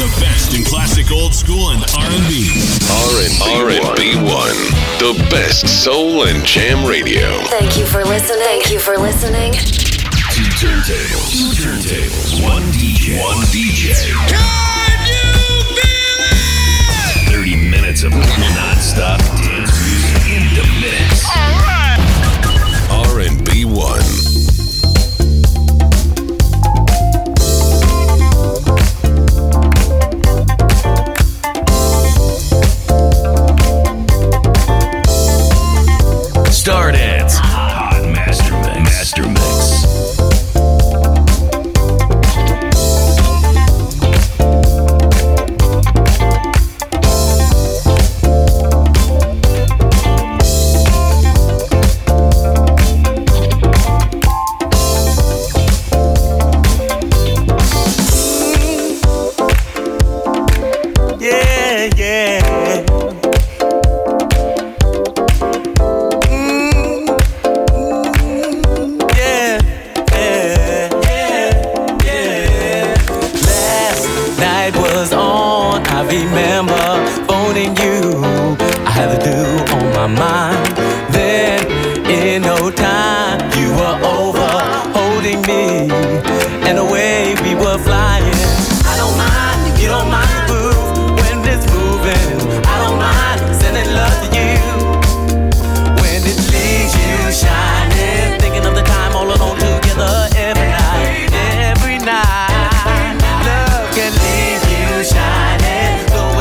The best in classic old school and R&B. R&B One. The best soul and jam radio. Thank you for listening. Thank you for listening. Two turntables. One DJ. Can you feel it? 30 minutes of non-stop dance music in the mix. All right. R&B One. Stardance. Hot Master Mix. Every night, love can leave you shining.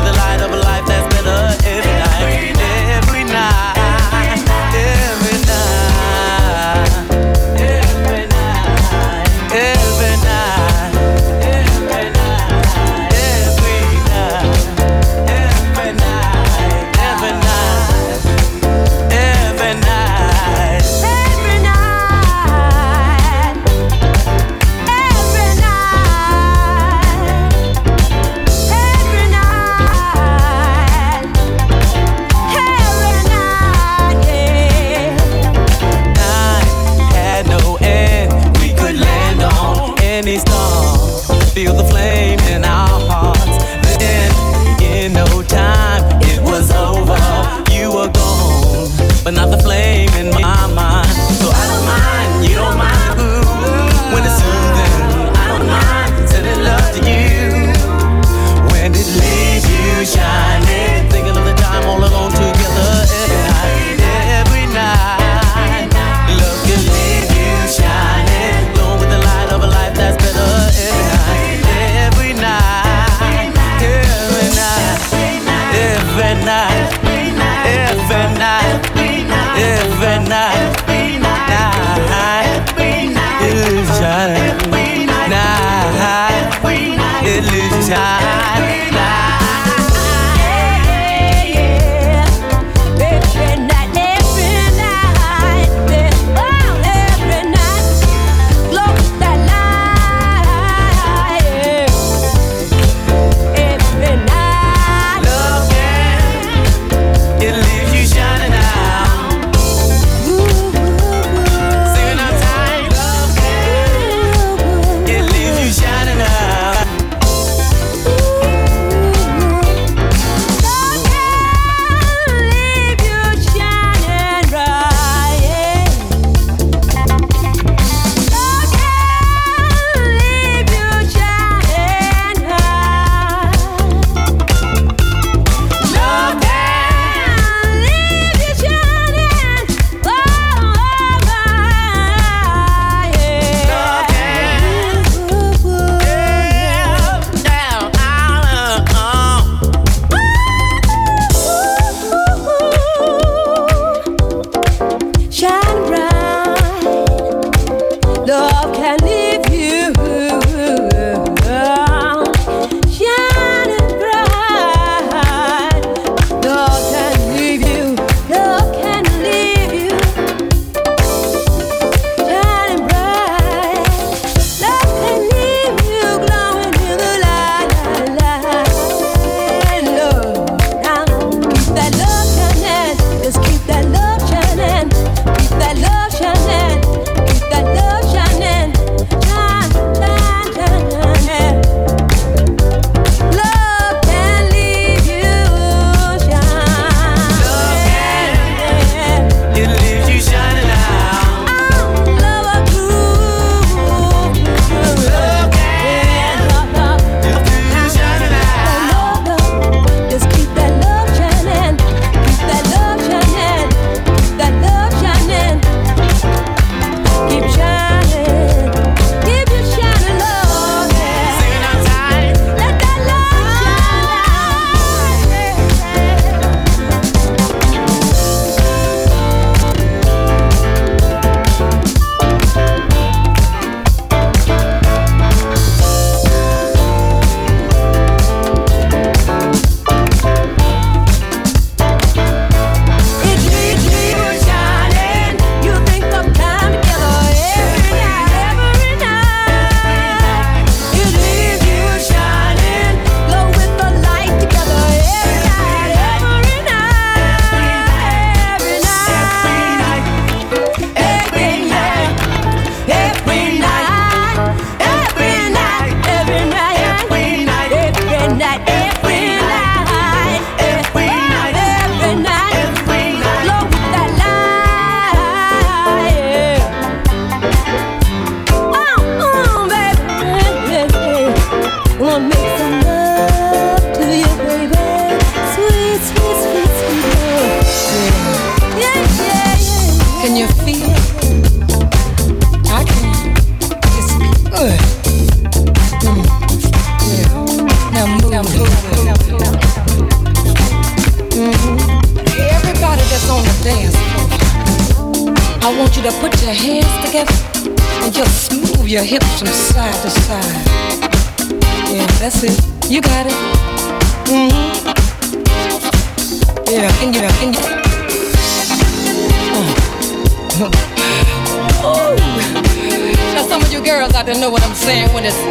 I'll make some love to you, baby. Sweet, sweet, sweet, sweet love. Yeah, yeah, yeah. Can you feel it? I can. It's good. Yeah. Now move. Everybody that's on the dance floor, I want you to put your hands together and just move your hips from side to side. Yeah, that's it. You got it. Yeah, and you. Oh. Now some of you girls out there know what I'm saying when it's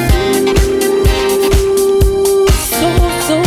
so good.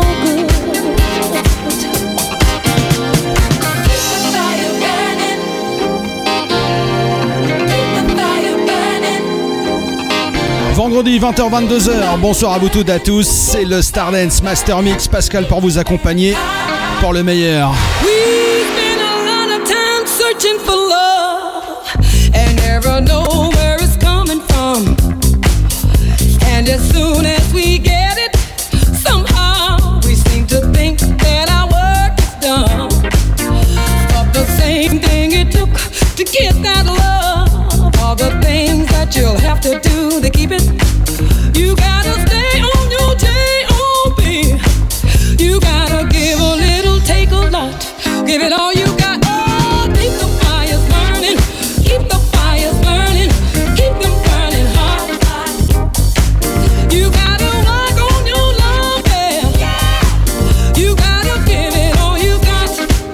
Vendredi 20h-22h, bonsoir à vous toutes et à tous, c'est le Stardance Master Mix, Pascal pour vous accompagner pour le meilleur. We've been a lot of time searching for love and never know where it's coming from. And as soon as we get it, somehow we seem to think that our work is done. But the same thing it took to get that love, all the things that you'll have to do to keep it. You gotta stay on your J.O.B. You gotta give a little, take a lot. Give it all you got. Oh, keep the fires burning. Keep the fires burning. Keep them burning hot. You gotta work on your love, yeah. You gotta give it all you got.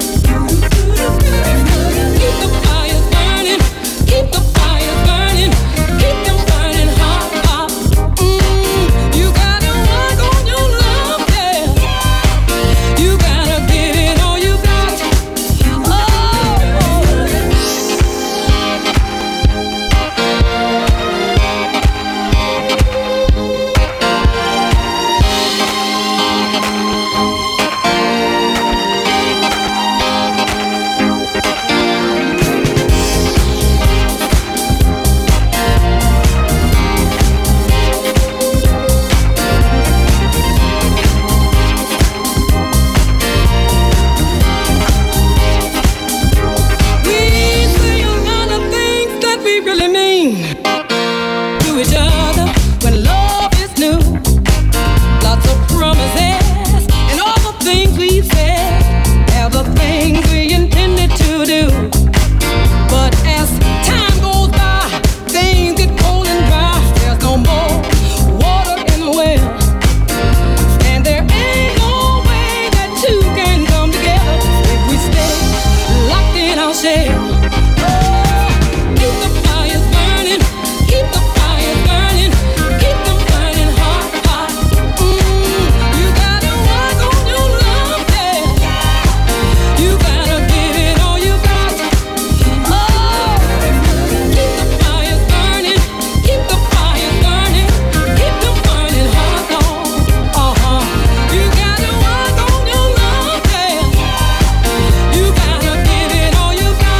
Keep the fires burning. Keep the fires burning. Keep them burning hot. You gotta work on your love, yeah. You gotta give it all you got. We say a lot of things that we really mean to each other when love is new. Lots of promises and all the things we said, are the things we intended to do. But as time goes by, things get cold and dry. There's no more water in the well, and there ain't no way that two can come together if we stay locked in our shell. Keep the fires burning. Keep the fires burning. Keep them burning hot, hot. You gotta work on your love, yeah. You gotta give it all you got. Oh, keep the fires burning. Keep the fires burning. Keep them burning hot, You gotta work on your love, yeah. You gotta give it all you got.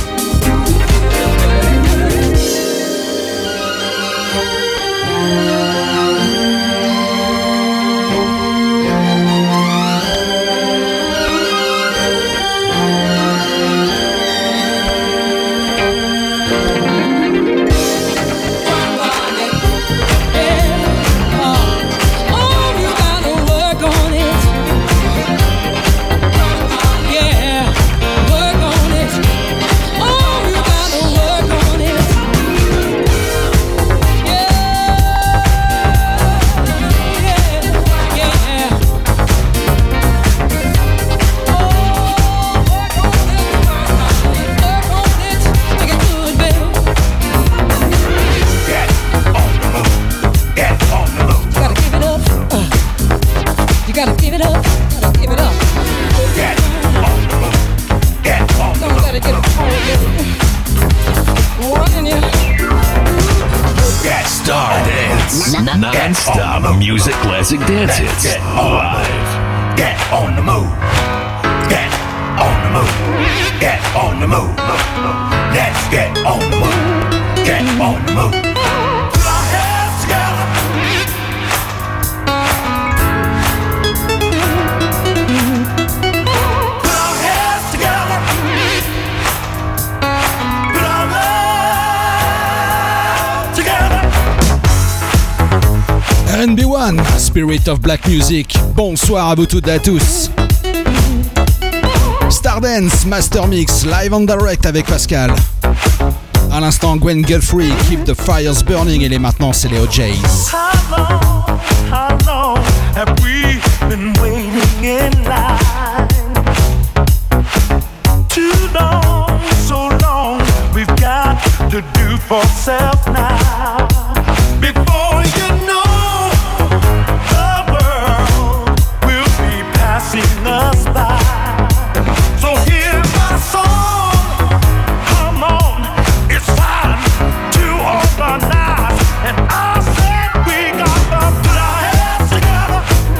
You gotta work on it. Yeah, work on it. Oh, you gotta work on it. Yeah. Oh, work on it. Work on it. Make it good, baby. Get on the move. Get on the move. You gotta give it up. You gotta give it up. Gotta give it up. Get on the move. Get on the Don't let it get running you. Get Stardance. Non-stop music classic dance hits. Live. Get on the move. Get on the move. Get on the move. Let's get on the move. Get on the move. Put our hands together. One, Spirit of Black Music. Bonsoir à vous toutes et à tous. Stardance Master Mix, live and direct avec Pascal. À l'instant, Gwen Guthrie, Keep the Fires Burning. Et maintenant, c'est les OJs. How long have we been waiting in line? Too long, so long, we've got to do for self now. Before you know, the world will be passing us by. So hear my song, come on, it's time to organize. And I said we got to put our heads together.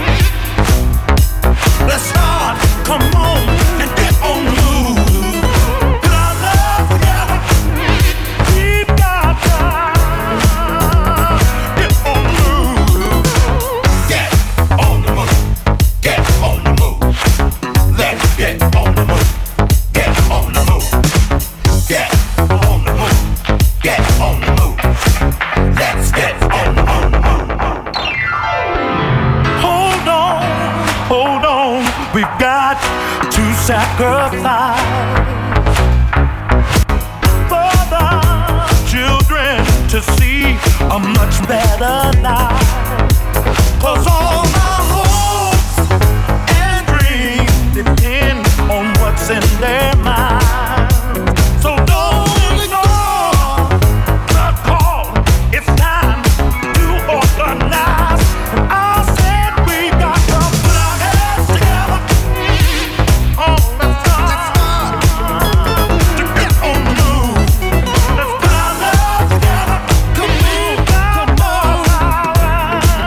Let's start, come on, and get on the move. Put our love together. We've got time. Get on the move. Get on the move. Get on the move. Let's get on the move. Get on the move. Get on the move. Get on the move. Let's get on the move. Hold on, we've got to sacrifice for the children to see a much better life. 'Cause all my hopes and dreams depend on what's in their mind. So don't ignore the call. It's time to organize. And I said we got to put our heads together. Oh, let's start to get on the move. Let's put our love together. Come on, come on.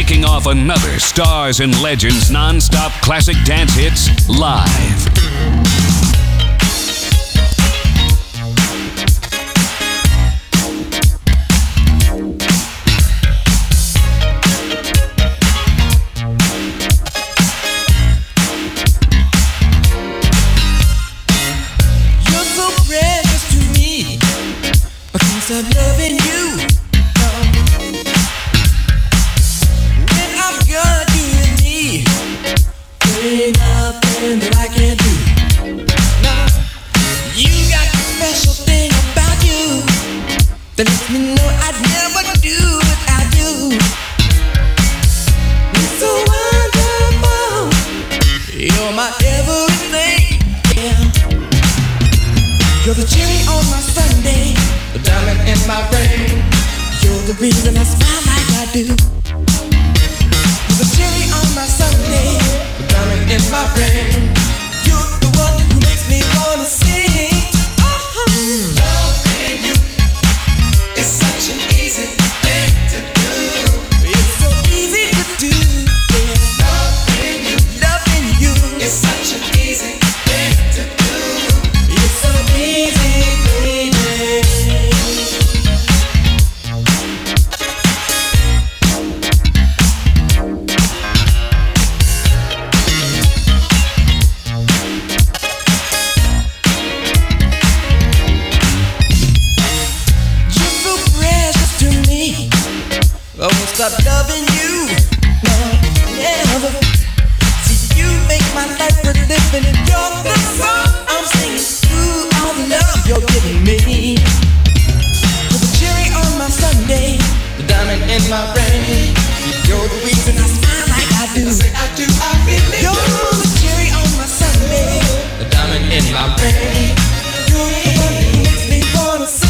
kicking off another Stars and Legends non-stop classic dance hits live. Stop loving you. When I've got you in me, there ain't nothing that I can't do. Nah, you got a special thing about you that lets me know I'd never do without you. You're so wonderful. You're my everything. Yeah. You're the cherry on my sundae, the diamond in my ring. You're the reason I smile like I do. You're the cherry on my sundae, the diamond in my ring. You're the one who makes me wanna sing. Loving you is such an easy thing to do. It's so easy to do. Yeah. Loving you is such an easy thing to do. It's so easy, baby. I won't stop loving you, no, never. See, you make my life worth living, and you're the song I'm singing through all the love you're giving me. You're the cherry on my sundae, the diamond in my ring. You're the reason I smile like I do. I do, I really do. You're the cherry on my sundae, the diamond in my ring. You're the one who makes me wanna sing.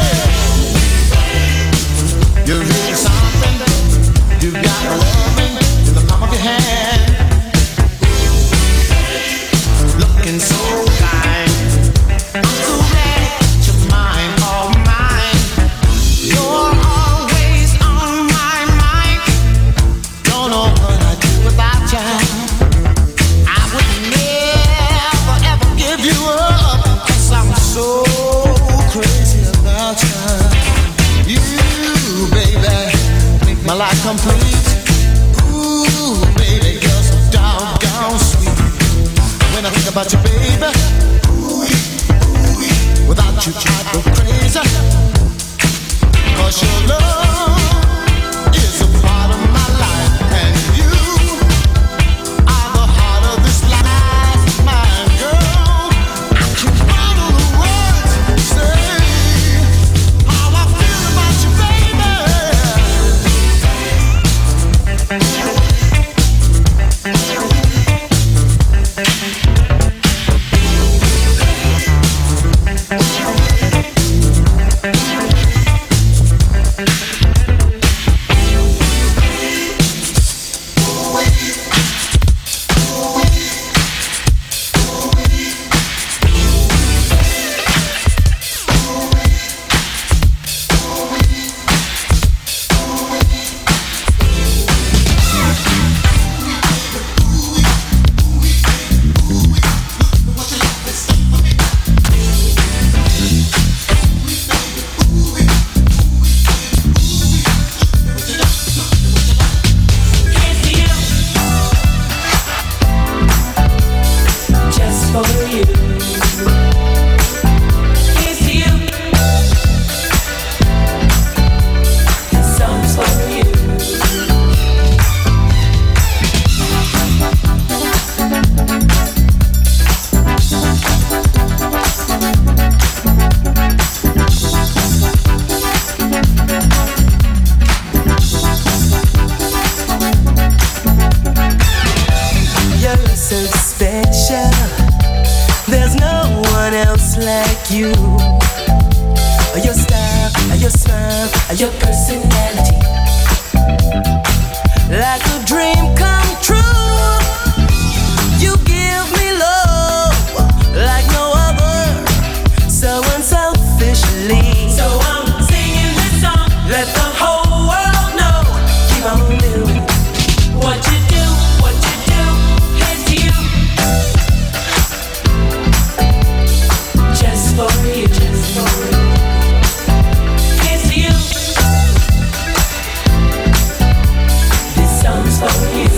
You got loving. complete. Ooh, baby girl, so doggone sweet. When I think about you, baby, without you I'd go crazy. 'Cause your love is a part of my life, and you are the heart of this life, my girl. I can follow the words, say how I feel about you, baby. For you.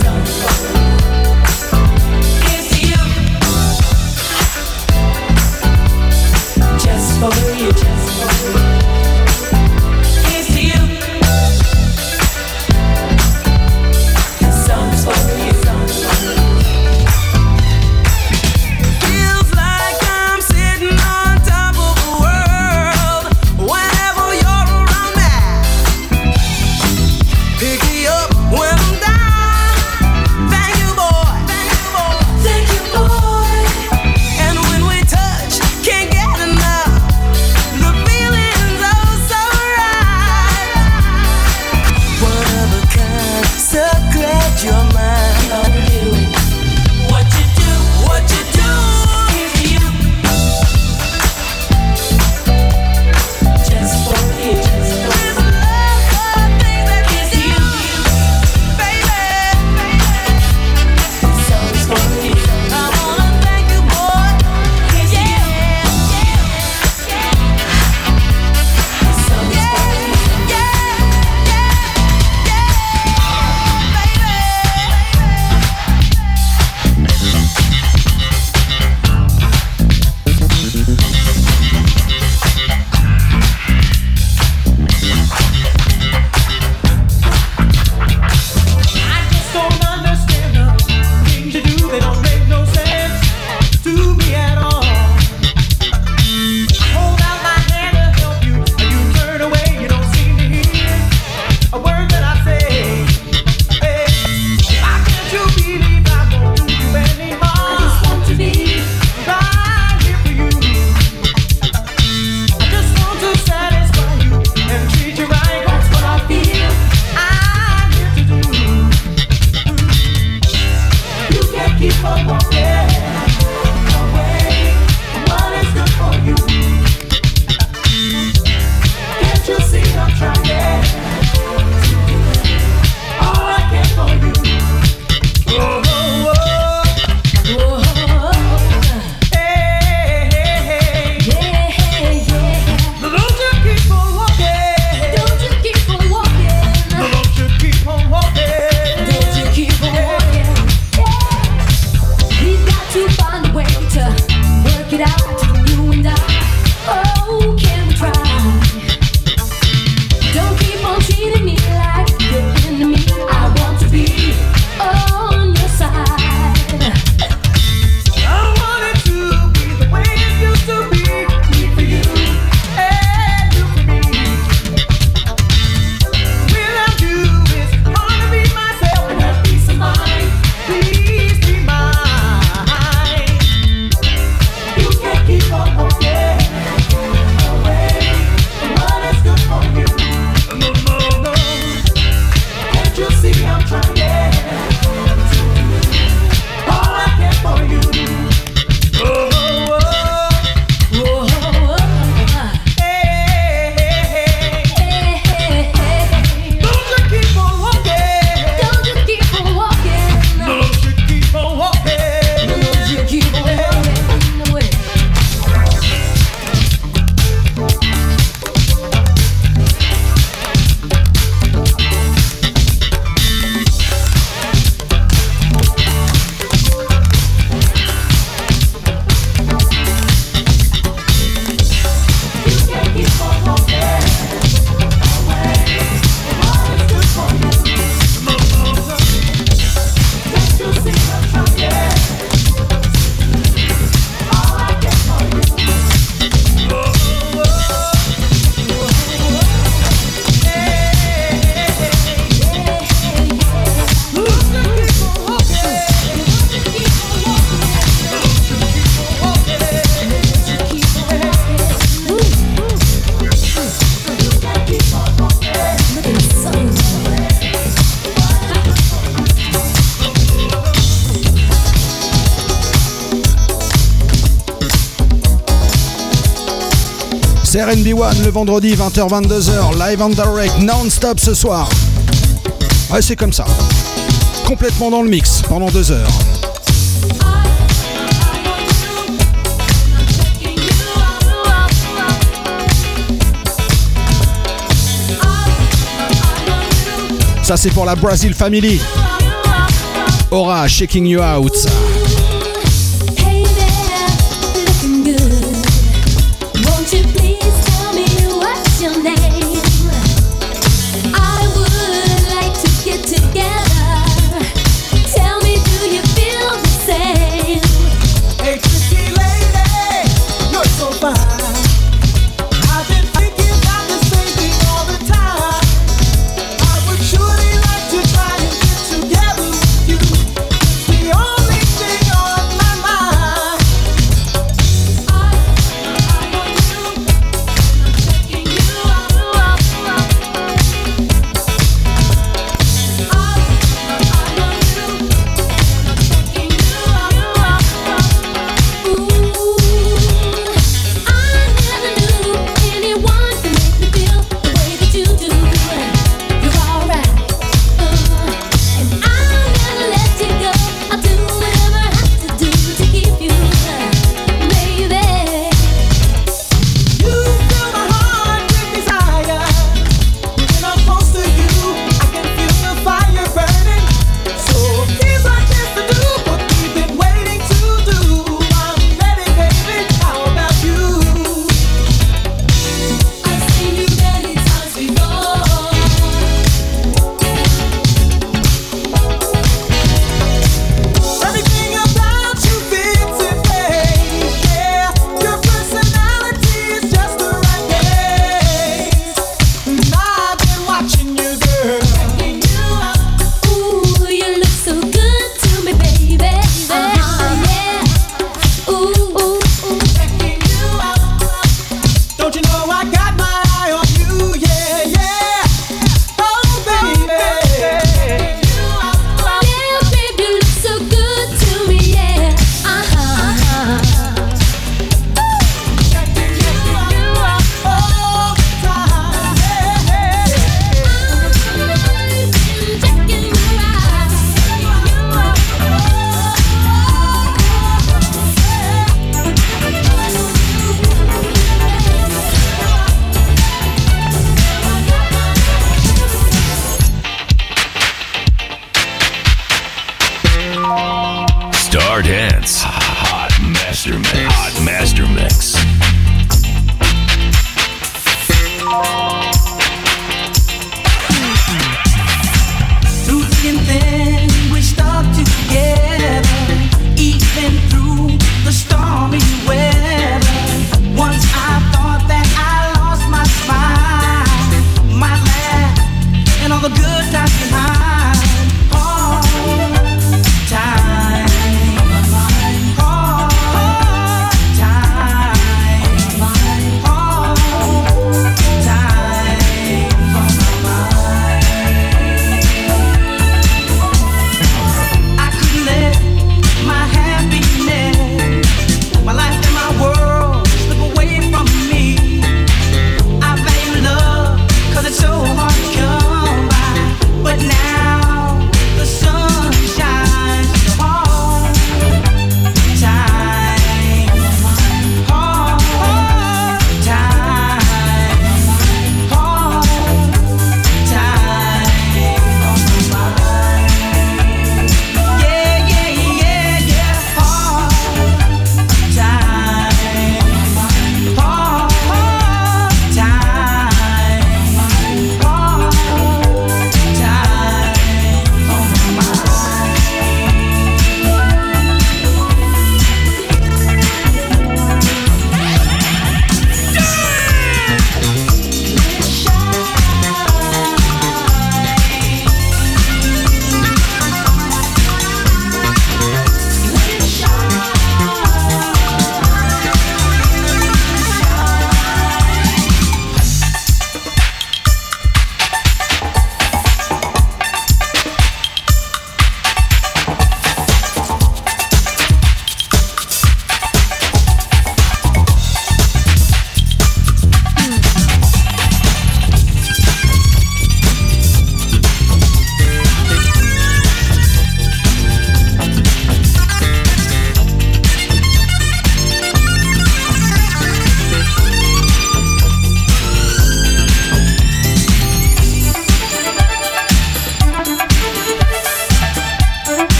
C'est RNB1 le vendredi 20h-22h, live and direct, non-stop ce soir. Ouais, c'est comme ça. Complètement dans le mix pendant 2 heures. Ça c'est pour la Brazil Family. Aura, Shaking You Out. Time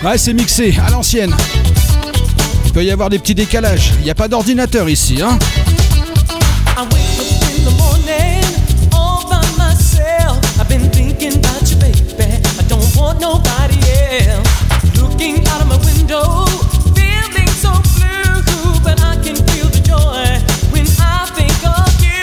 Ouais, c'est mixé à l'ancienne. Il peut y avoir des petits décalages. Il n'y a pas d'ordinateur ici, hein. I wake up in the morning all by myself. I've been thinking about you, baby. I don't want nobody else. Looking out of my window, feeling so blue, but I can feel the joy when I think of you.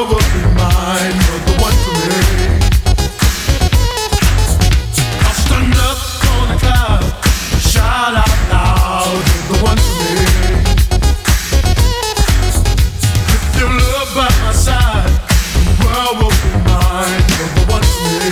will be mine. You're the one for me. I'll stand up on the cloud, shout out loud. You're the one for me. With your love by my side, the world will be mine. You're the one for me.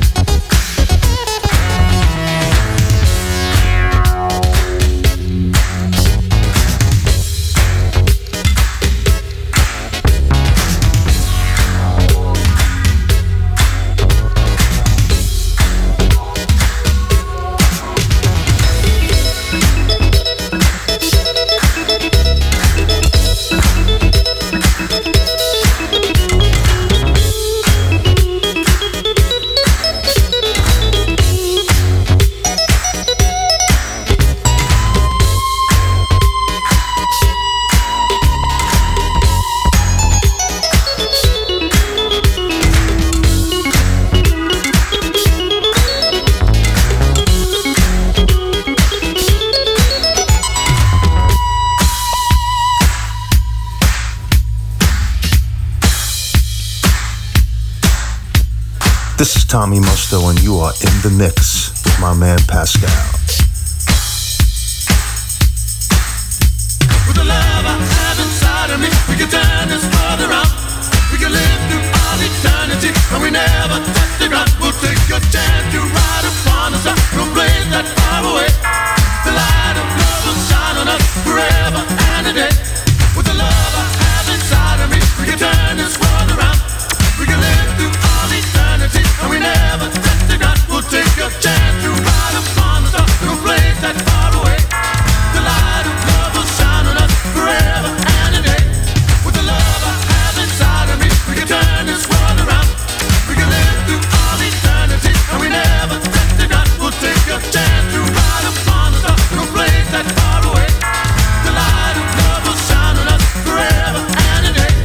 This is Tommy Musto, and you are in the mix with my man Pascal. With the love I have inside of me, we can turn this world around. We can live through all eternity, and we never touch the ground. We'll take a chance to ride upon the sun, no place that far away. The light of love will shine on us forever and a day. With the love I have inside of me, we can turn this world around. We can live through all eternity, and we never touch the ground. We'll take a chance to ride upon the sun, no place that far away. The light of love will shine on us forever and a day. With the love I have inside of me, we can turn this world around. We can live through all eternity, and we never touch the ground. We'll take a chance to ride upon the sun, no place that far away. The light of love will shine on us forever and a day.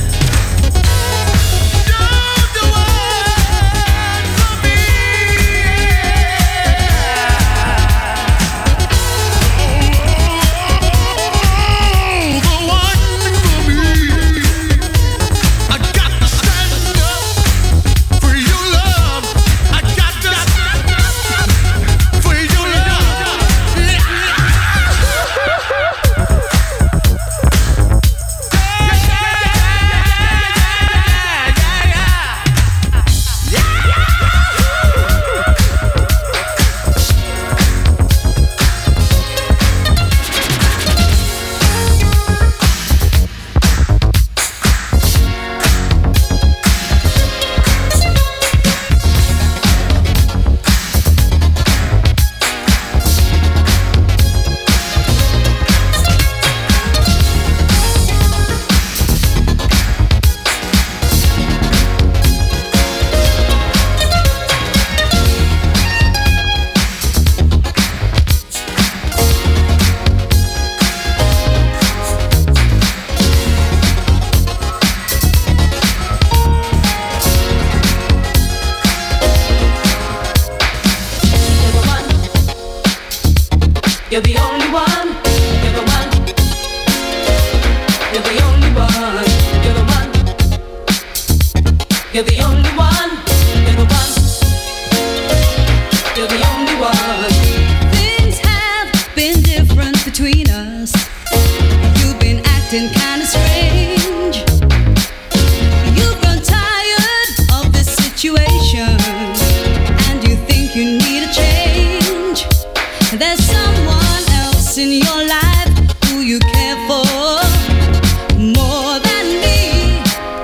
You're the only one. You're the one. You're the only one. You're the one. You're the only one. You're the one. You're the only one. Things have been different between us. You've been acting kinda strange. You've grown tired of this situation, and you think you need a change. There's someone else in your life who you care for more than me.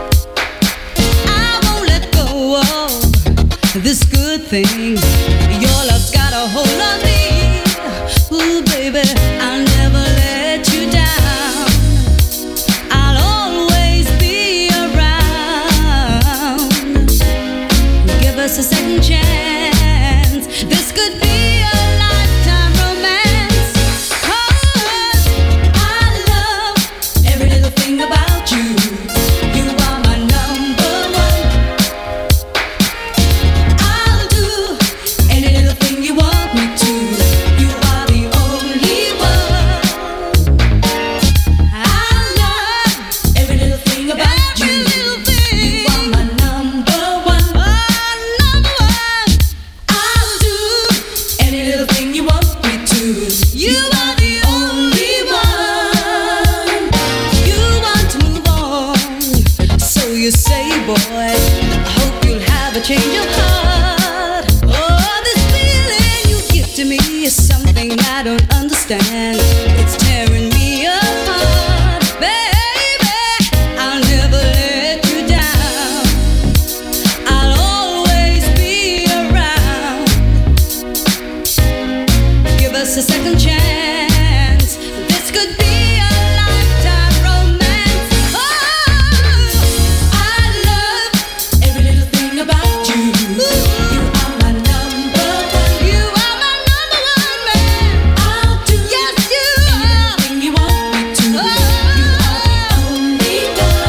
I won't let go of this good thing. Your love's got a hold on me. Ooh, baby, I'll never let you down. I'll always be around. Give us a second chance. This could be a lifetime romance. 'Cause I love every little thing about you. You are my number one. I'll do you say, boy, I hope you'll have a change of heart. Oh, this feeling you give to me is something I don't understand. It's tearing me apart, baby. I'll never let you down. I'll always be around. Give us a second chance. This could be a lifetime romance. Oh, I love every little thing about you. You are my number one. You are my number one man. I'll do anything you want me to. You are the only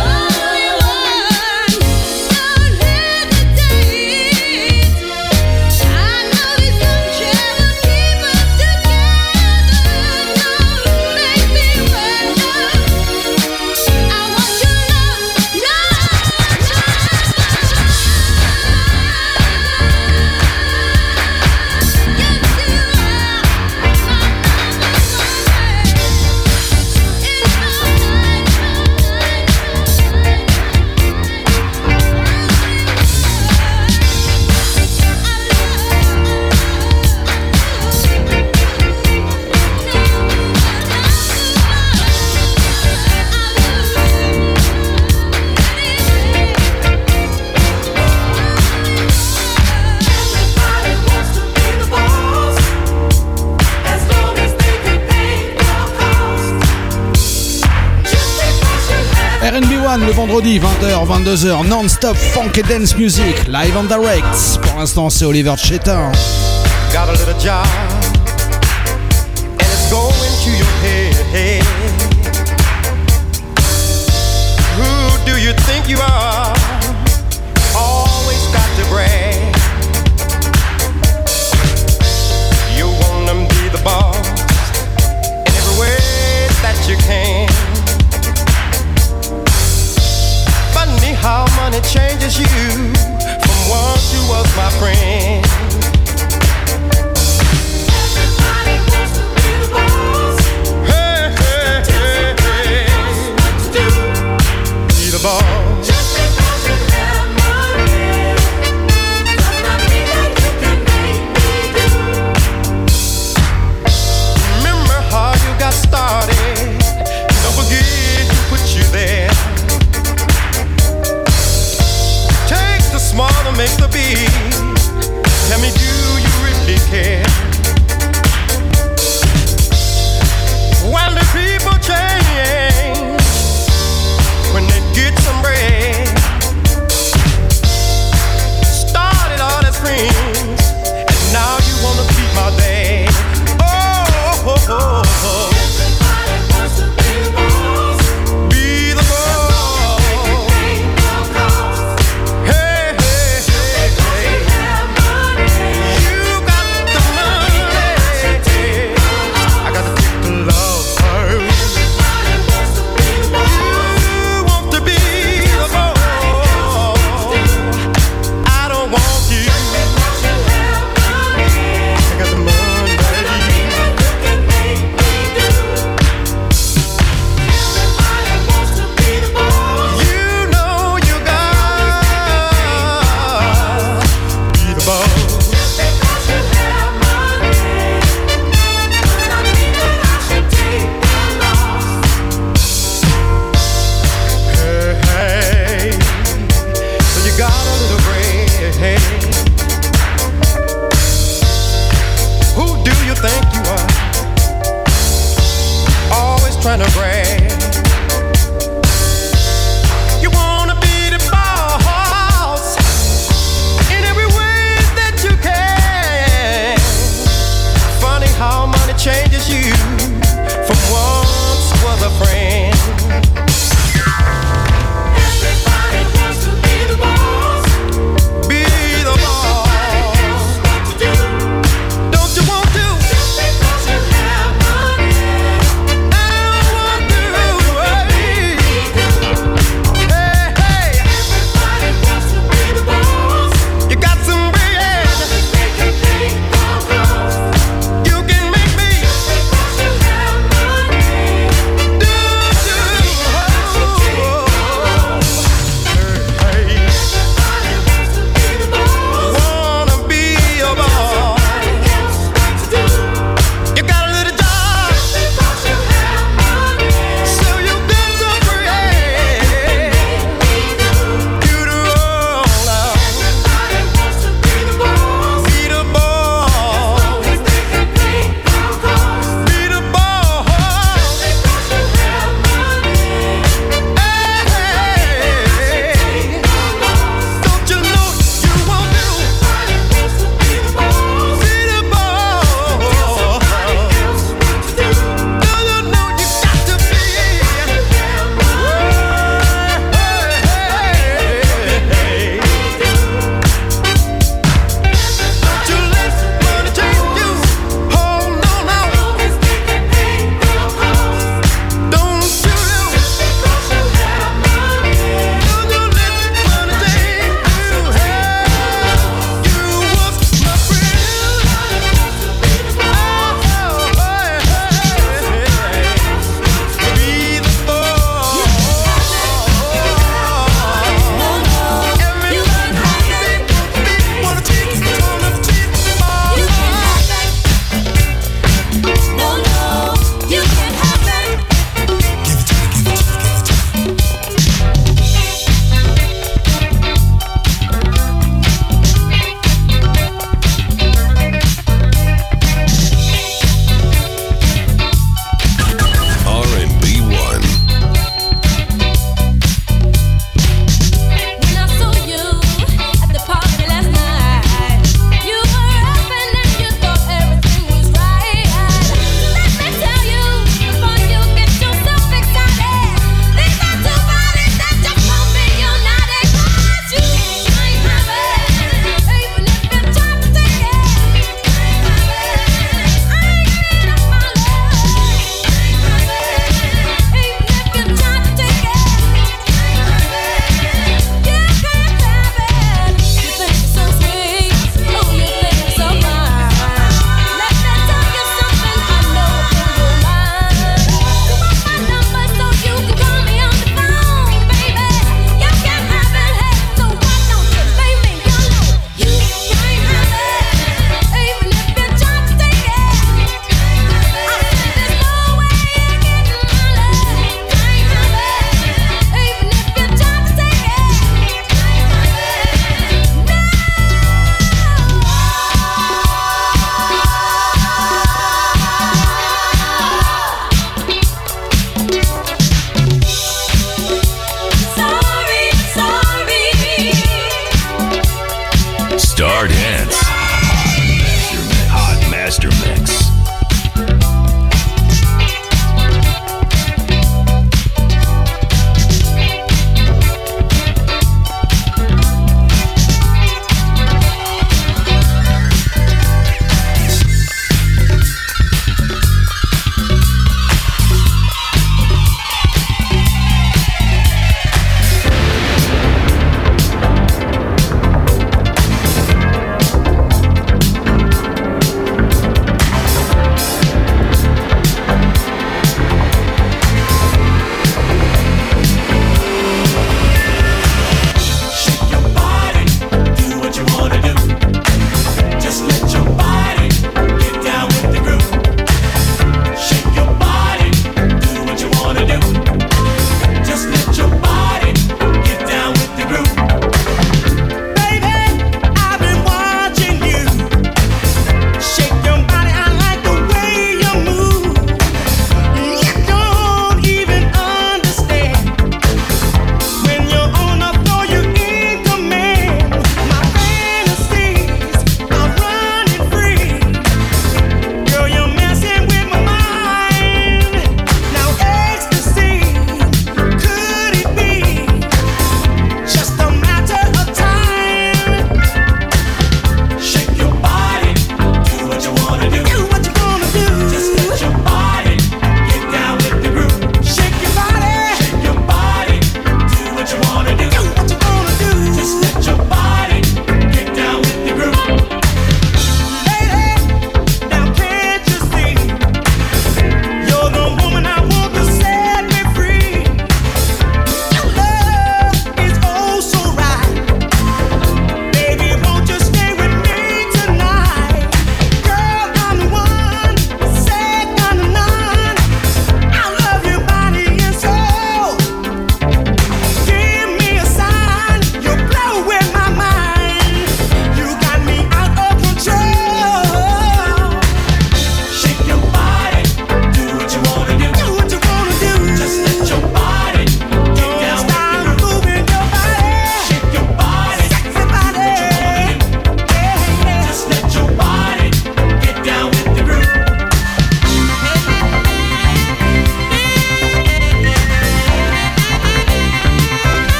one. Don't hesitate. I know this sunshine will keep us together. Don't make me wonder. I want your love, RB1 le vendredi 20h 22h non-stop funk et dance music live and direct. Pour l'instant c'est Oliver Chetin. Got a little job and it's going to your head. Who do you think you are? Always got to brag. You wanna be the boss in every way that you can. Funny how money changes you from once you was my friend. Everybody wants to be the boss. Hey, hey, hey, hey. What to do? Be the boss. Just because you have money does not mean that you can make me do. Remember how you got started. Don't forget who put you there. The smaller makes the beat. Tell me, do you really care? When the people change, when they get some bread, started all as friends, and now you wanna beat my dad. Oh, oh, oh, oh. Everybody wants to be the boss. Be the boss. Hey.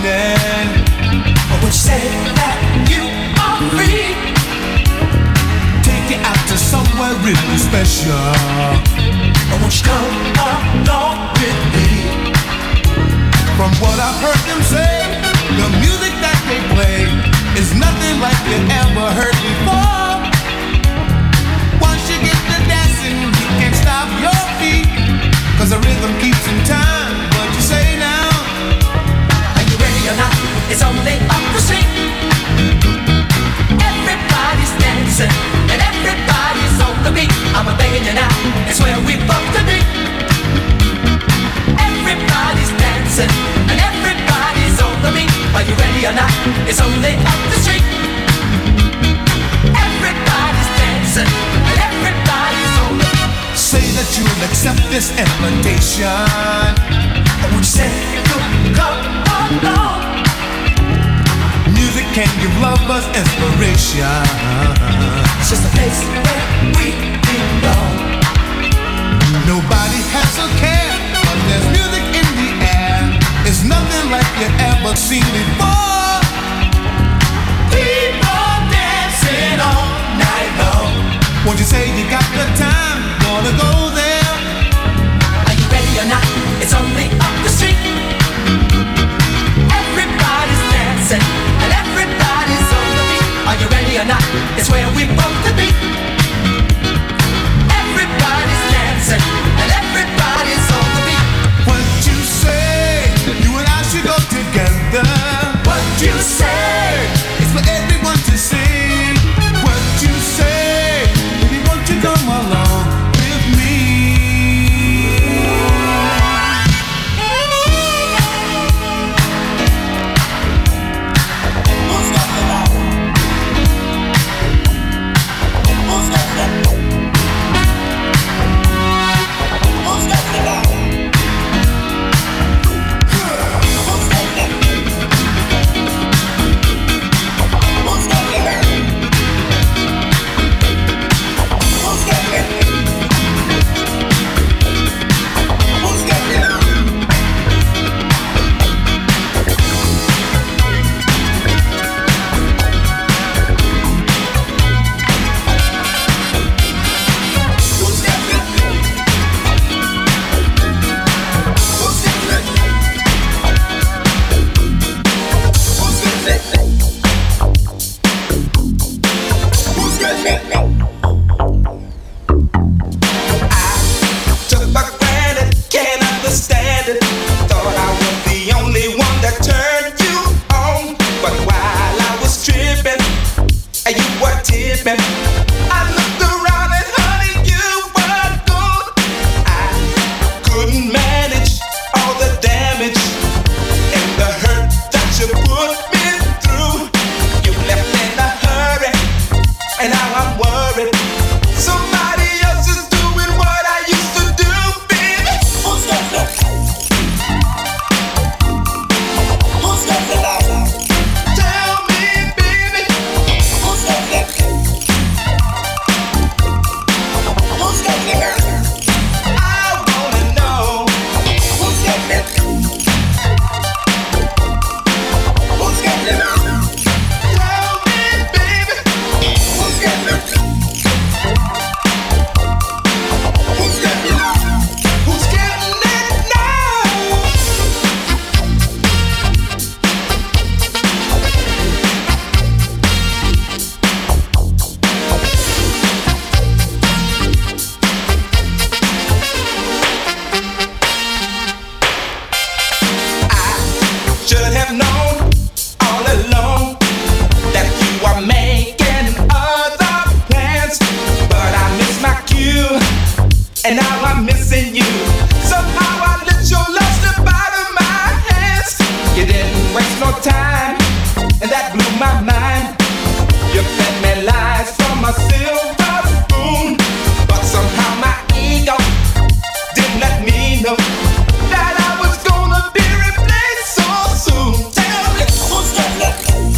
meaning when she said that you are free. Take you out to somewhere really special. When she come along with me. From what I've heard them say, the music that they play is nothing like you ever heard before. Once you get to dancing, you can't stop your feet, 'cause the rhythm keeps in time. What you say now? Are you ready or not? It's only up the street. Everybody's dancing and everybody's on the beat. I'm begging you now, it's where we both to be. Everybody's dancing and everybody's on the beat. Are you ready or not? It's only up the street. Everybody's dancing and everybody's on the beat. Say that you'll accept this invitation. And when you say you'll come along, music can give lovers inspiration. It's just a place where we belong. Nobody has a care, but there's music in the air. It's nothing like you ever seen before. People dancing all night long. Won't you say you got the time? Wanna go there? Are you ready or not? It's only up the street. Everybody's dancing and everybody's on the beat. Are you ready or not? It's where we both to be. Everybody's dancing and everybody's on the beat. What you say? You and I should go together. What you say? It's for everyone to see. What you say? Baby, won't you come along with me? That I was gonna be replaced so soon. Tell me who's got that?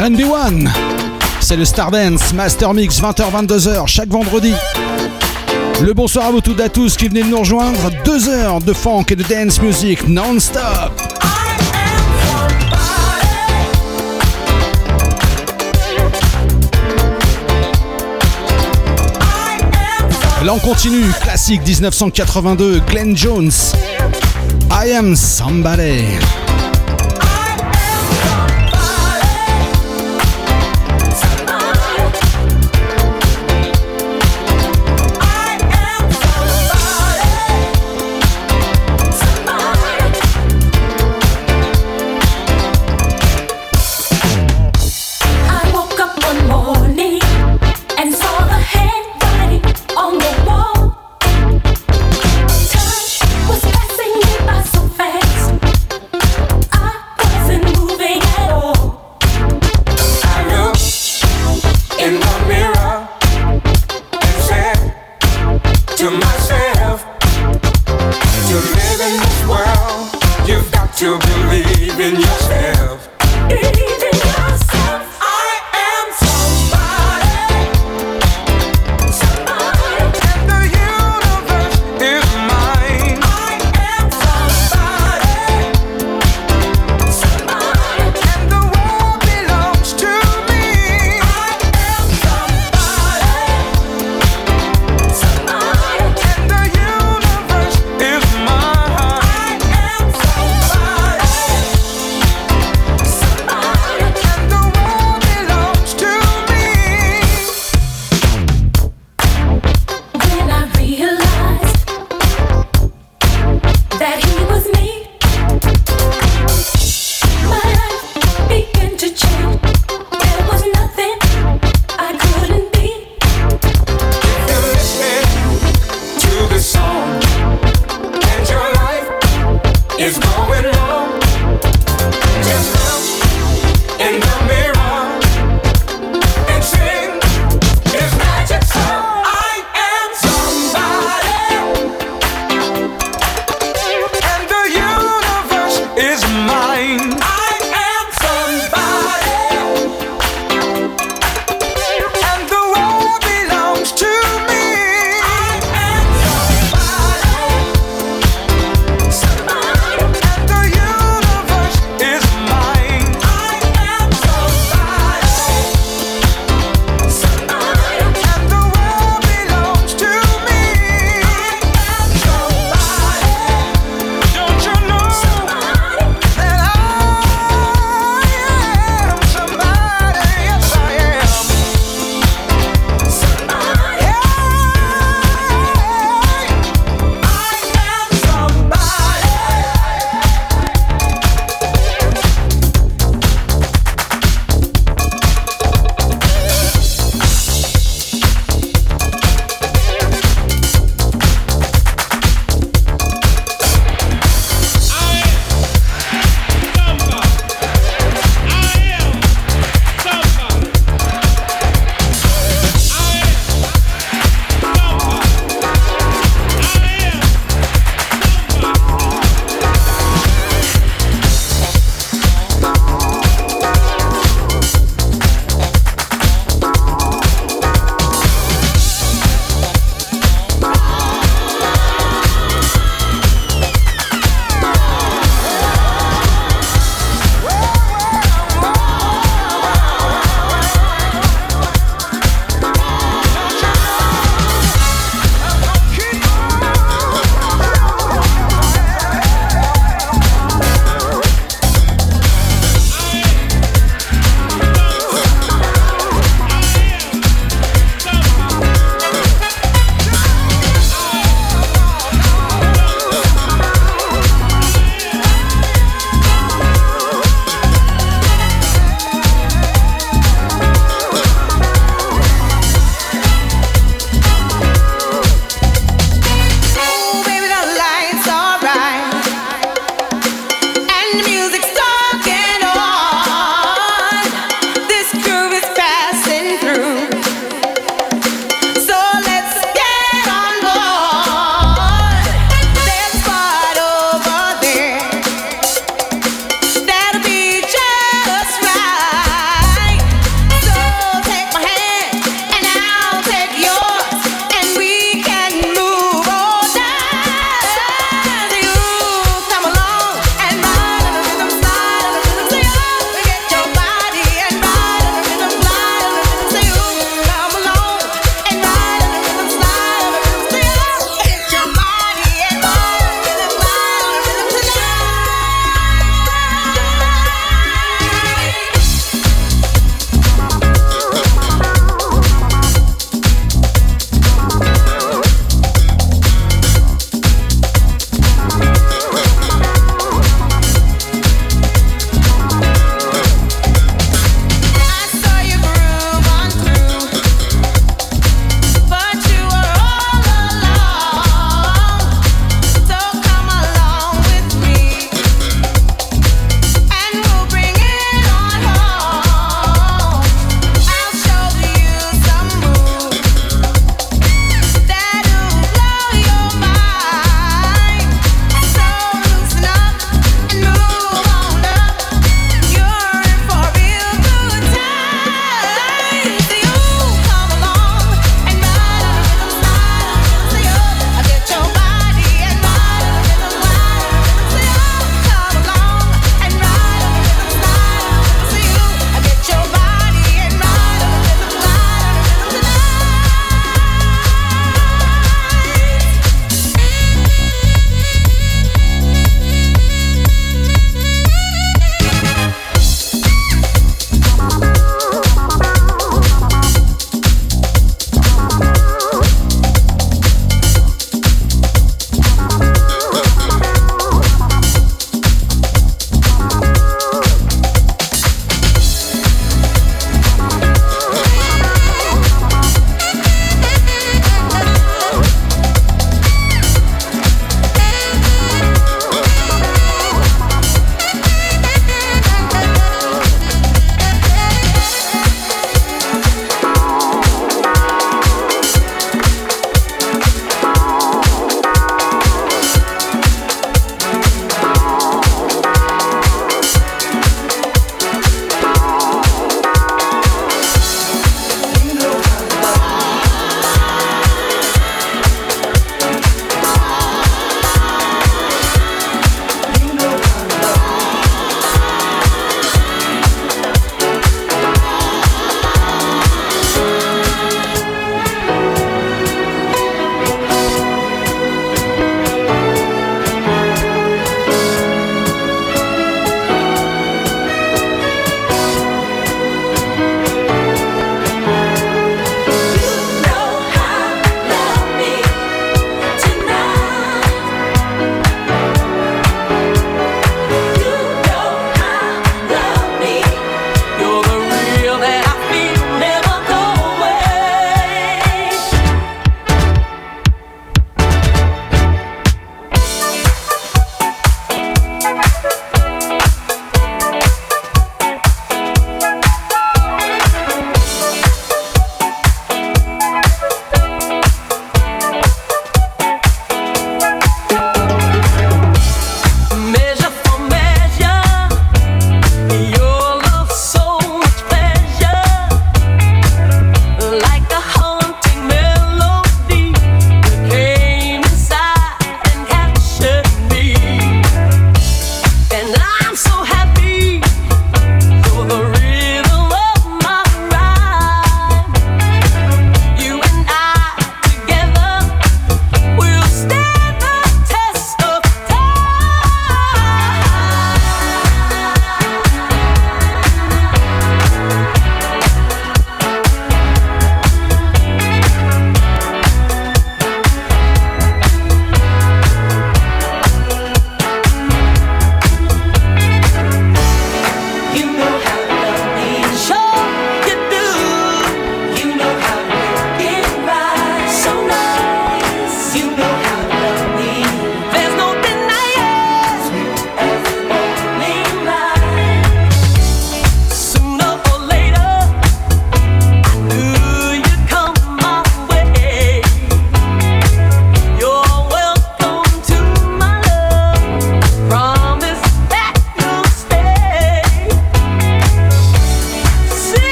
R&B One. C'est le Stardance Master Mix 20h-22h chaque vendredi. Le bonsoir à vous toutes et à tous qui venez de nous rejoindre. 2 heures de funk et de dance music non-stop. Là on continue, classique 1982, Glenn Jones, I Am Somebody.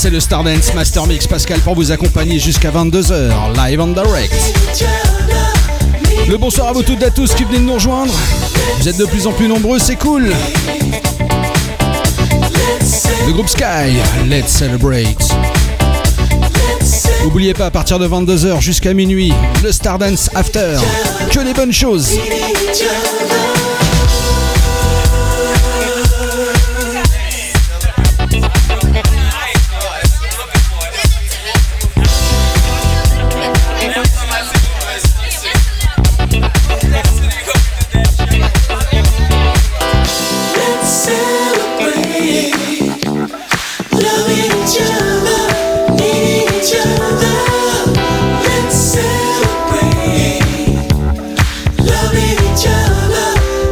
c'est le Stardance Master Mix. Pascal pour vous accompagner jusqu'à 22h, live and direct. Le bonsoir à vous toutes et à tous qui venez de nous rejoindre. Vous êtes de plus en plus nombreux, c'est cool. Le groupe Sky, let's celebrate. N'oubliez pas, à partir de 22h jusqu'à minuit, le Stardance After. Que des bonnes choses. Loving each other.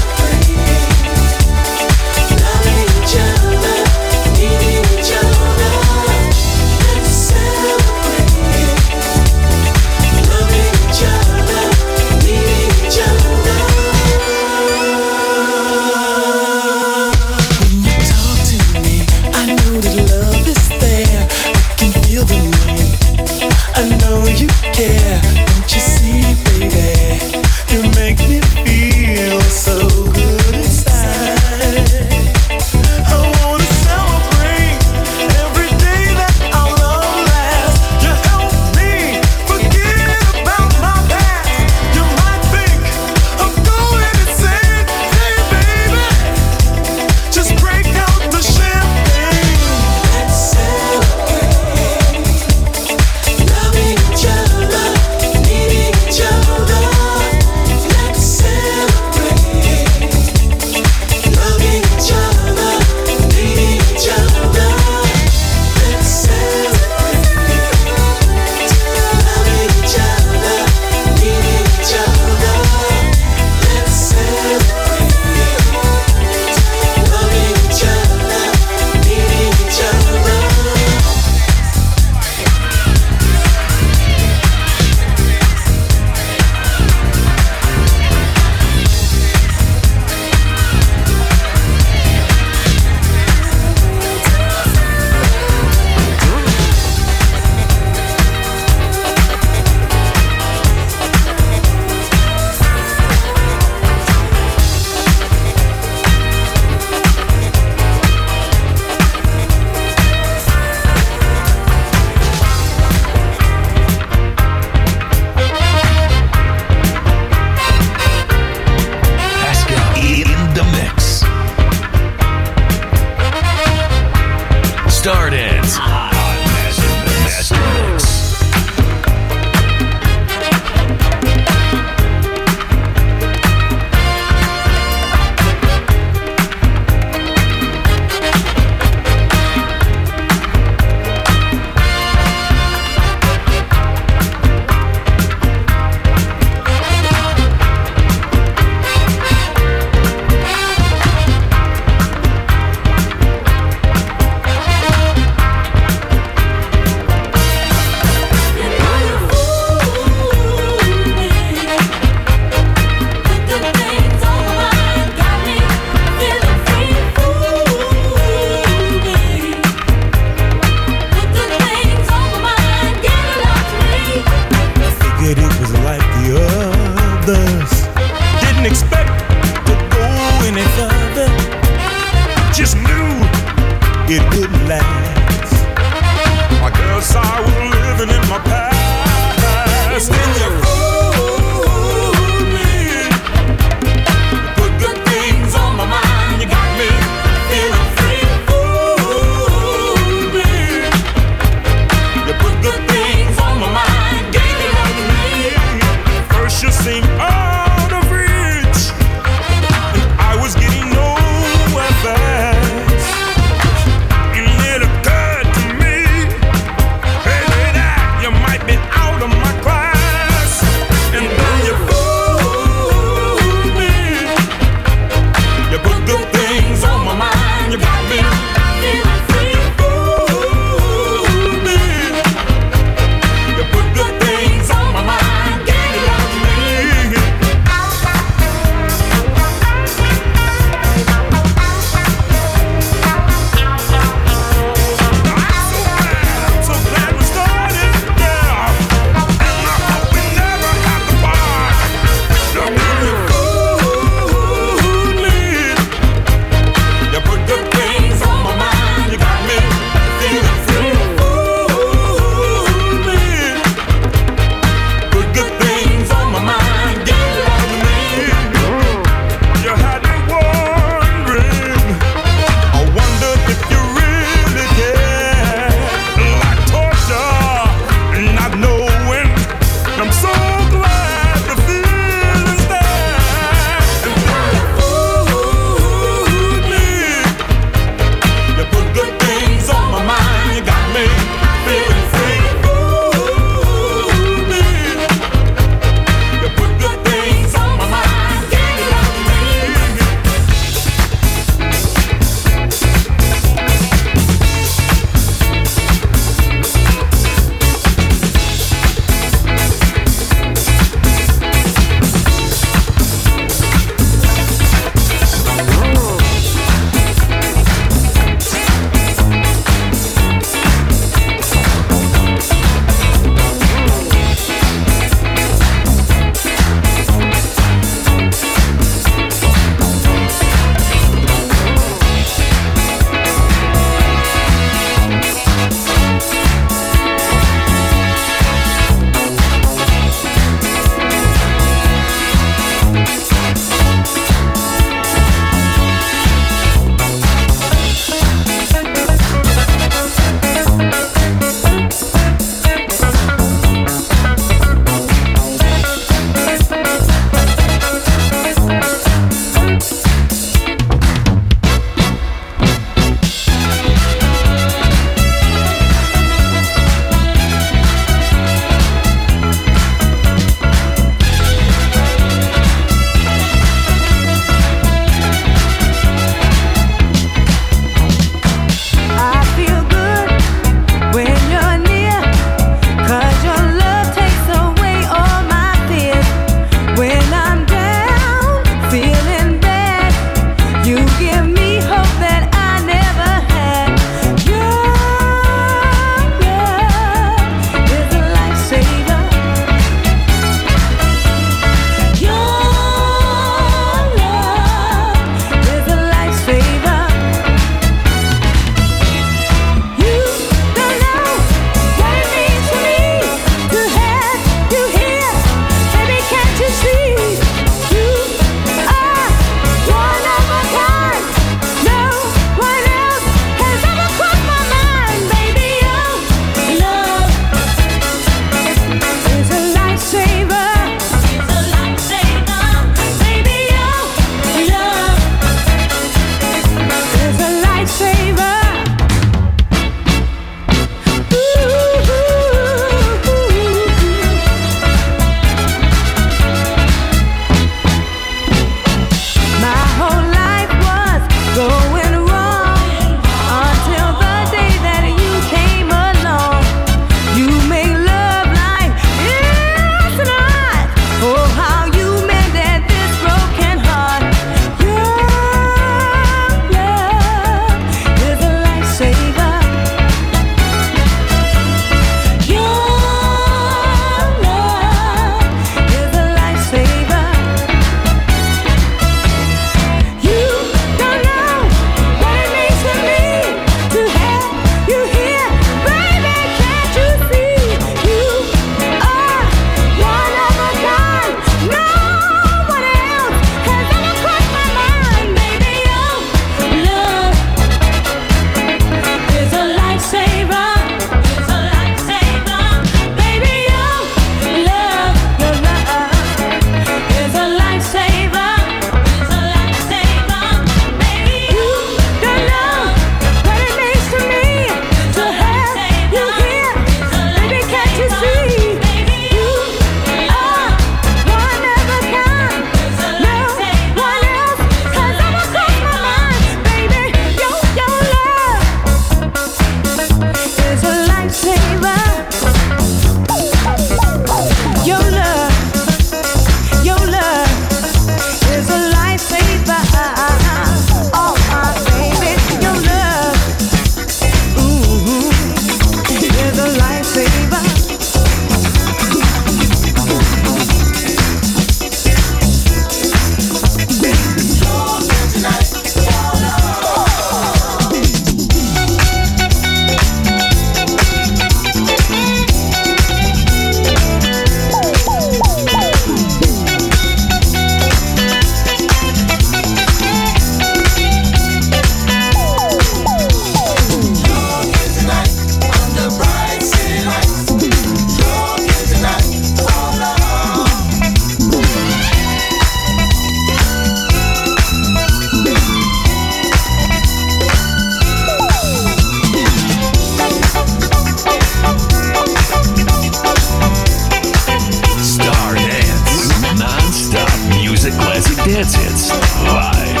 Mix live.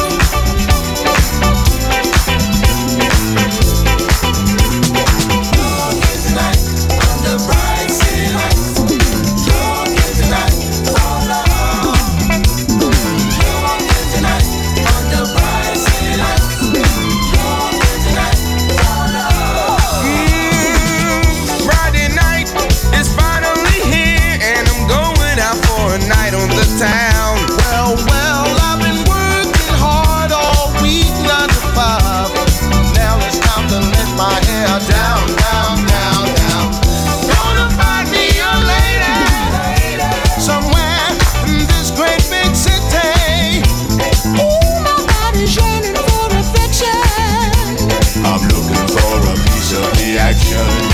Town. Well, I've been working hard all week, 9 to 5. Now it's time to let my hair down. Gonna find me a lady somewhere in this great big city. Ooh, my body's yearning for affection. I'm looking for a piece of the action.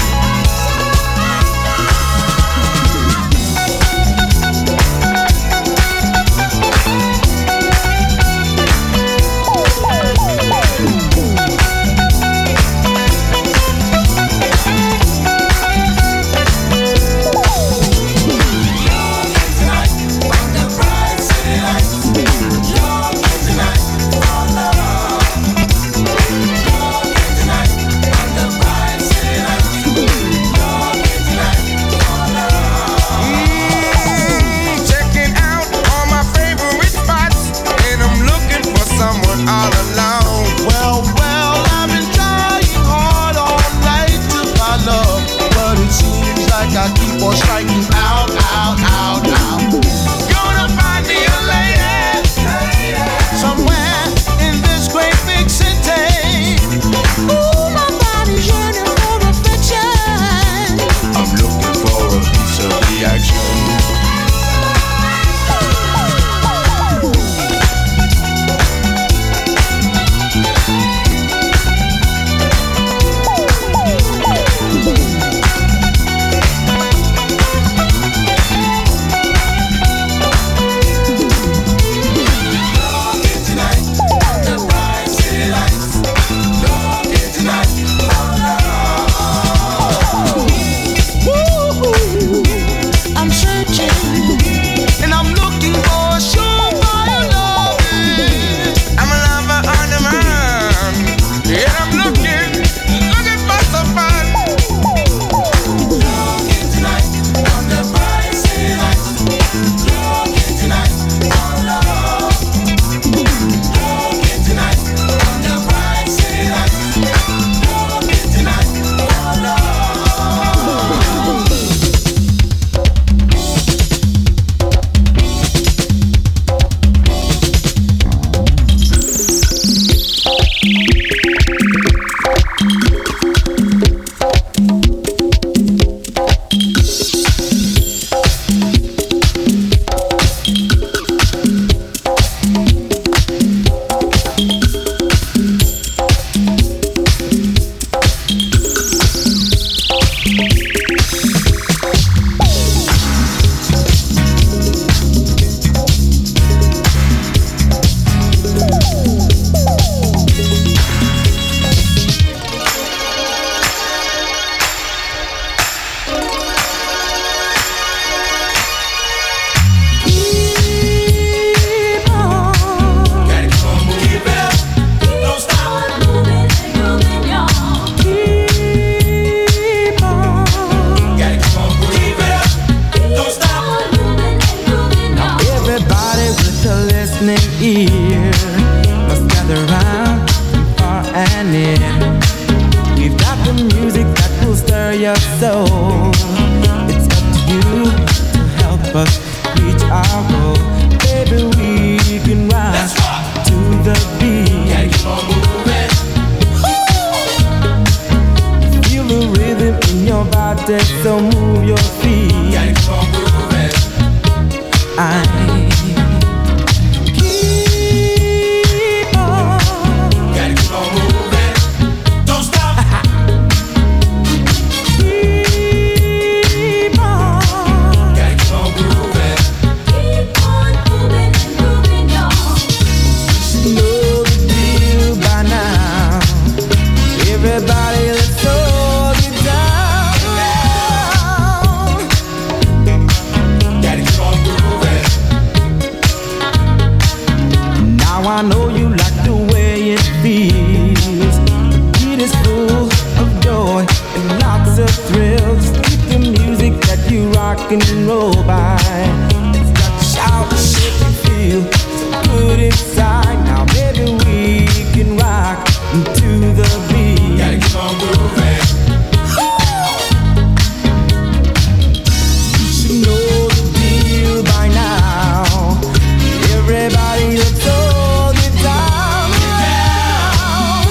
All alone. Well, I've been trying hard all night to find love, but it seems like I keep on striking out. Gonna find me a lady somewhere in this great big city. Ooh, my body's yearning for affection. I'm looking for a piece of the action. So move your feet. Now I know you like the way it feels. The beat is full of joy and lots of thrills. Keep the music that you rock and roll by. It's got to shout and make you feel so good inside. Now maybe we can rock to the beat. Gotta keep on grooving. You should know the deal by now. Everybody looks all the time around.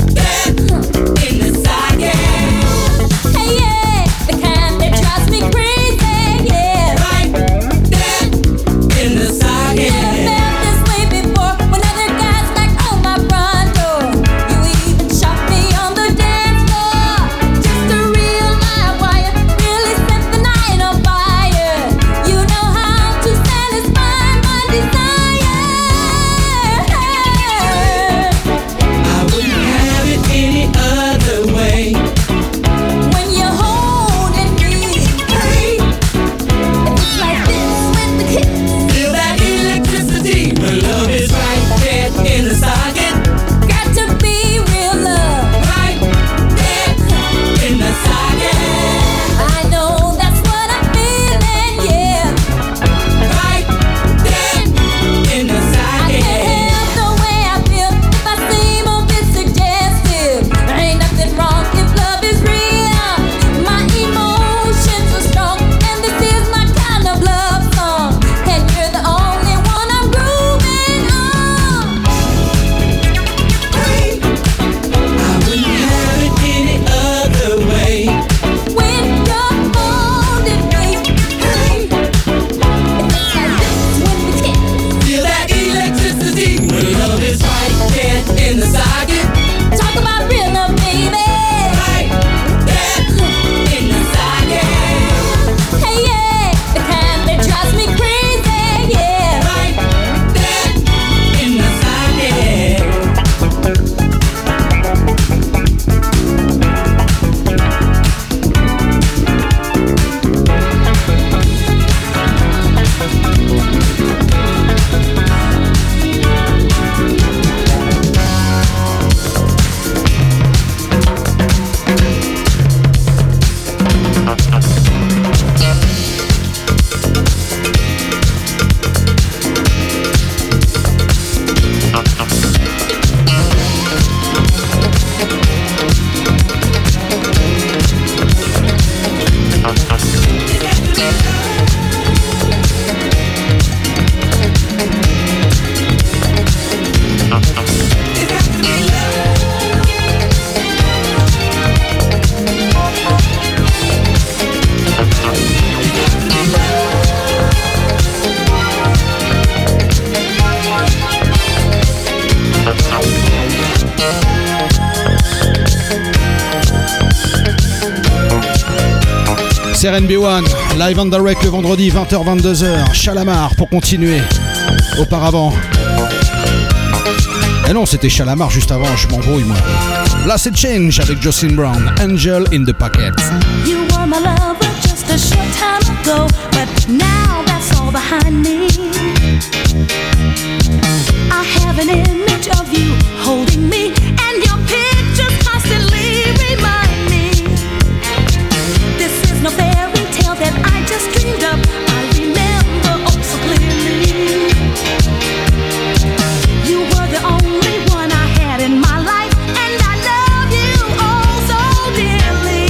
Hey, yeah, the kind that drives me crazy. C'est RNB1, live and direct le vendredi 20h-22h, Chalamar pour continuer. Auparavant. Eh non, c'était Chalamar juste avant, je m'embrouille moi. Là c'est Change avec Jocelyn Brown, Angel in the Pocket. You were my lover just a short time ago, but now that's all behind me. I have an image of you holding me, and your pictures constantly remind me. This is no fairy tale that I just dreamed up. I remember oh so clearly. You were the only one I had in my life, and I love you oh so dearly.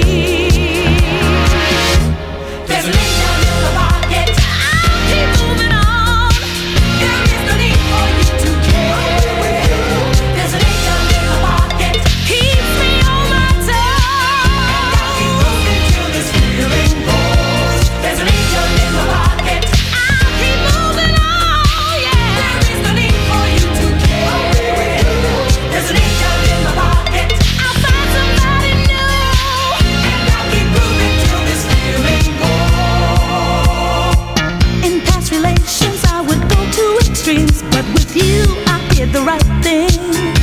There's an angel in the pocket. I'll keep moving on. There is no need for you to care. There's an angel in the pocket. Keeps me on my toes. I'll keep moving till this feeling goes. There's an angel in the pocket. I'll keep moving on. Yeah. There is no need for you to care. There's an angel in the pocket. I'll find somebody new. And I'll keep moving till this feeling goes. In past relations, I would go to extremes, but with you, I did the right thing.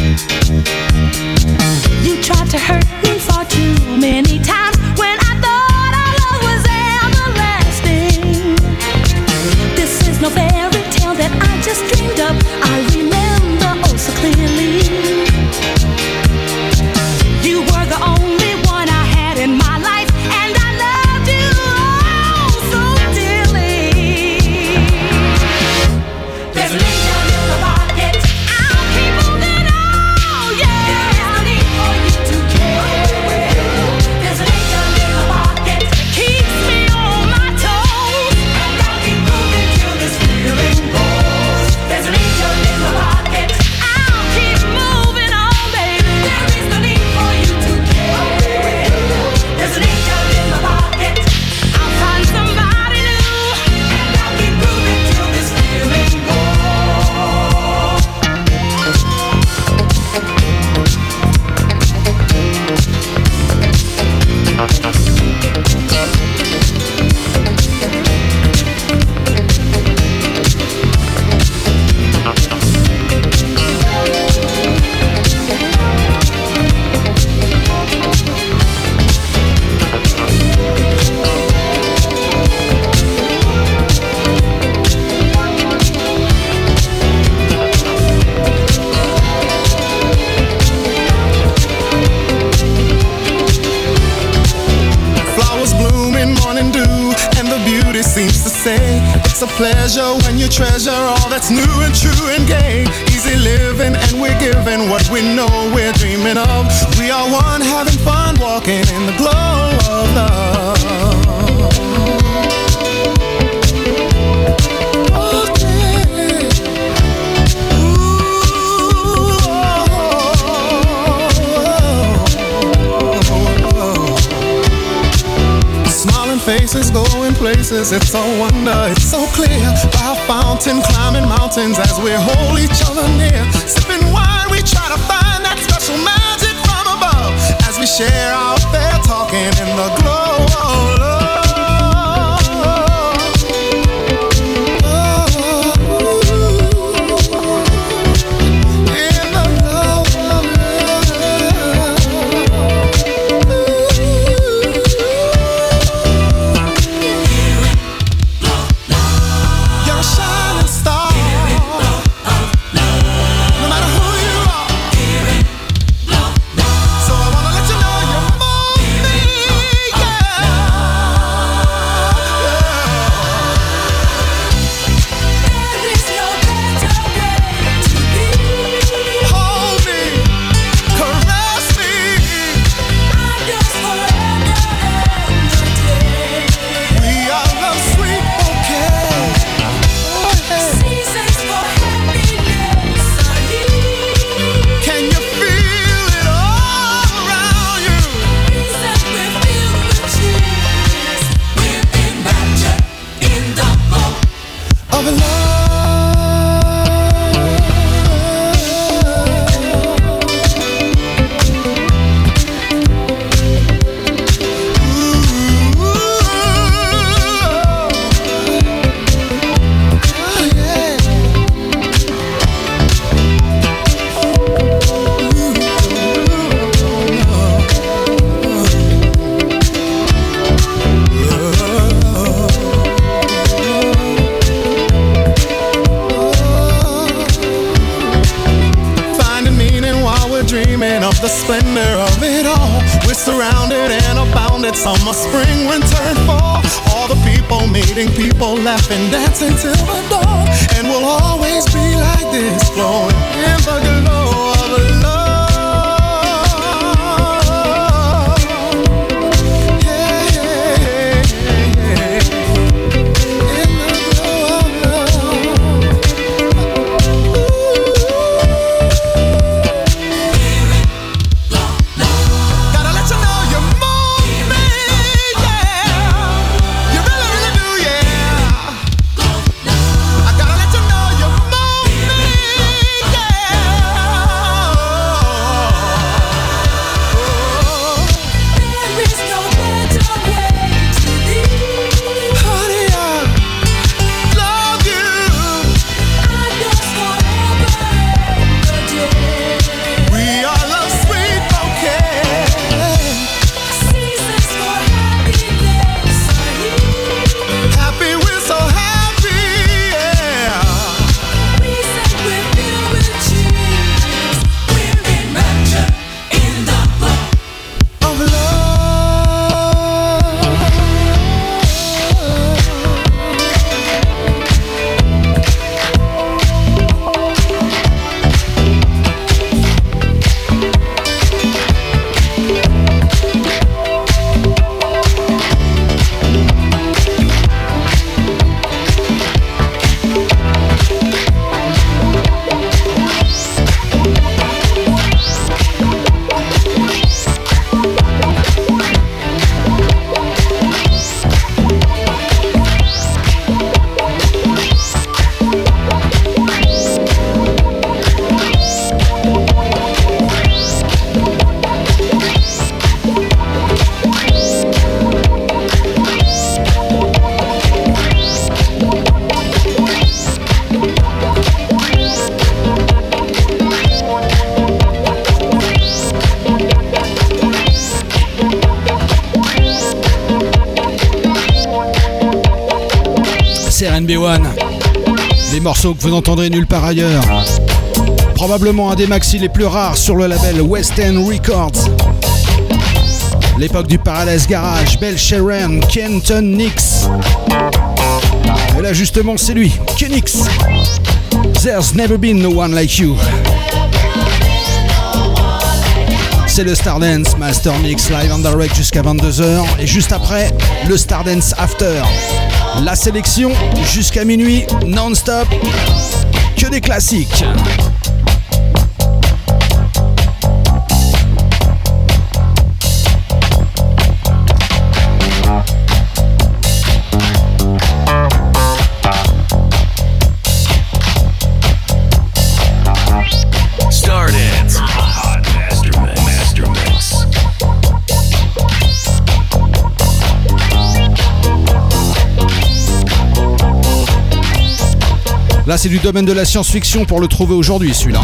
You tried to hurt me far too many times when I thought our love was everlasting. This is no fairy tale that I just dreamed up. I remember oh so clearly. You were the only one I had in my life, and I loved you oh so dearly. There's an angel in the pocket. I'll keep moving on, yeah. There is no need for you to care. There's an angel in the pocket. Keeps me on my toes. And I'll keep moving till this feeling goes. There's an angel in the pocket. I'll keep moving on, baby. There is no need for you to care. There's an angel in the pocket. I'll find somebody new. And I'll keep moving till this feeling goes. Flowers bloom in morning dew, and the beauty seems to say it's a pleasure when you treasure all that's new and true and gay. Easy living, and we're giving what we know we're dreaming of. We are one, having fun, walking in the glow of love. Smiling faces, going places, it's a wonder, it's so clear. By a fountain, climbing mountains as we hold each other near. Sipping wine, we try to find that special magic from above. As we share out there, talking in the glow of love. In the glow of You're a shining star. No matter who you are. So I wanna let you know you move me, yeah. splendor of it all. We're surrounded and abounded, summer, spring, winter, and fall. All the people meeting, people laughing, dancing till the dawn. And we'll always be like this, flowing in the glow of love. RNB1, les morceaux que vous n'entendrez nulle part ailleurs. Probablement un des maxi les plus rares sur le label West End Records. L'époque du Paradise Garage, Bell Sharon, Kenton Nix. Et là justement c'est lui, Kenix. There's never been no one like you. C'est le Stardance Master Mix live on direct jusqu'à 22h. Et juste après, le Stardance After. La sélection jusqu'à minuit, non-stop, que des classiques. Stardance Hot Master Mix. Là, c'est du domaine de la science-fiction pour le trouver aujourd'hui, celui-là.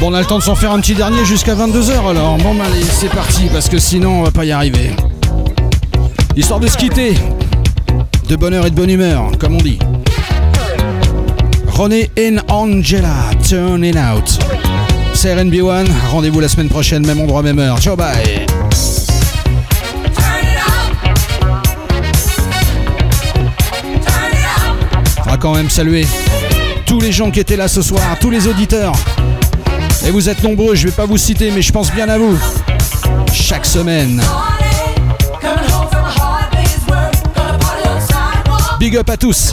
Bon, on a le temps de s'en faire un petit dernier jusqu'à 22h alors. Bon, bah, allez, c'est parti parce que sinon on va pas y arriver. Histoire de se quitter, de bonheur et de bonne humeur, comme on dit. René and Angela, Turn It Out. C'est RNB1, rendez-vous la semaine prochaine, même endroit, même heure. Ciao, bye. On va quand même saluer tous les gens qui étaient là ce soir, tous les auditeurs. Et vous êtes nombreux, je vais pas vous citer, mais je pense bien à vous. Chaque semaine. Big up à tous.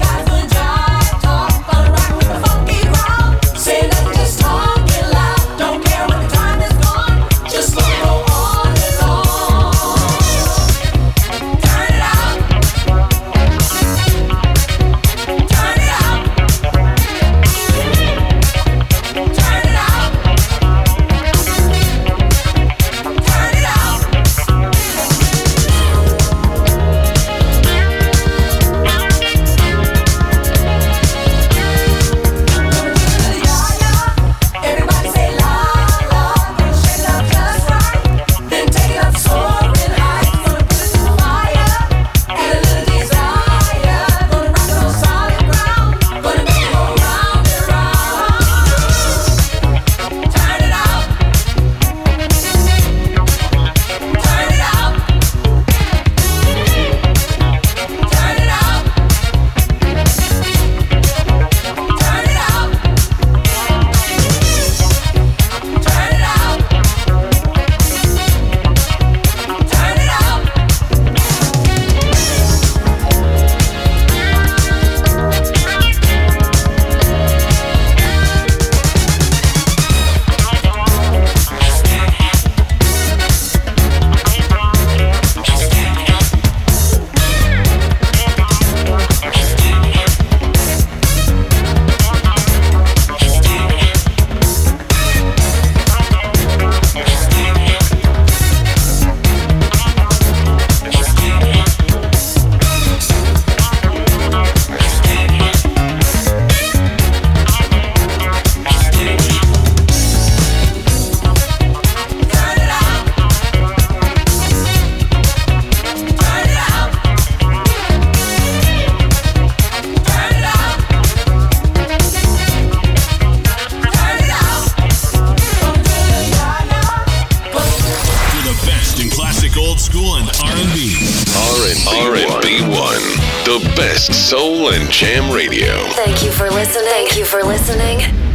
The best soul and jam radio. Thank you for listening. Thank you for listening.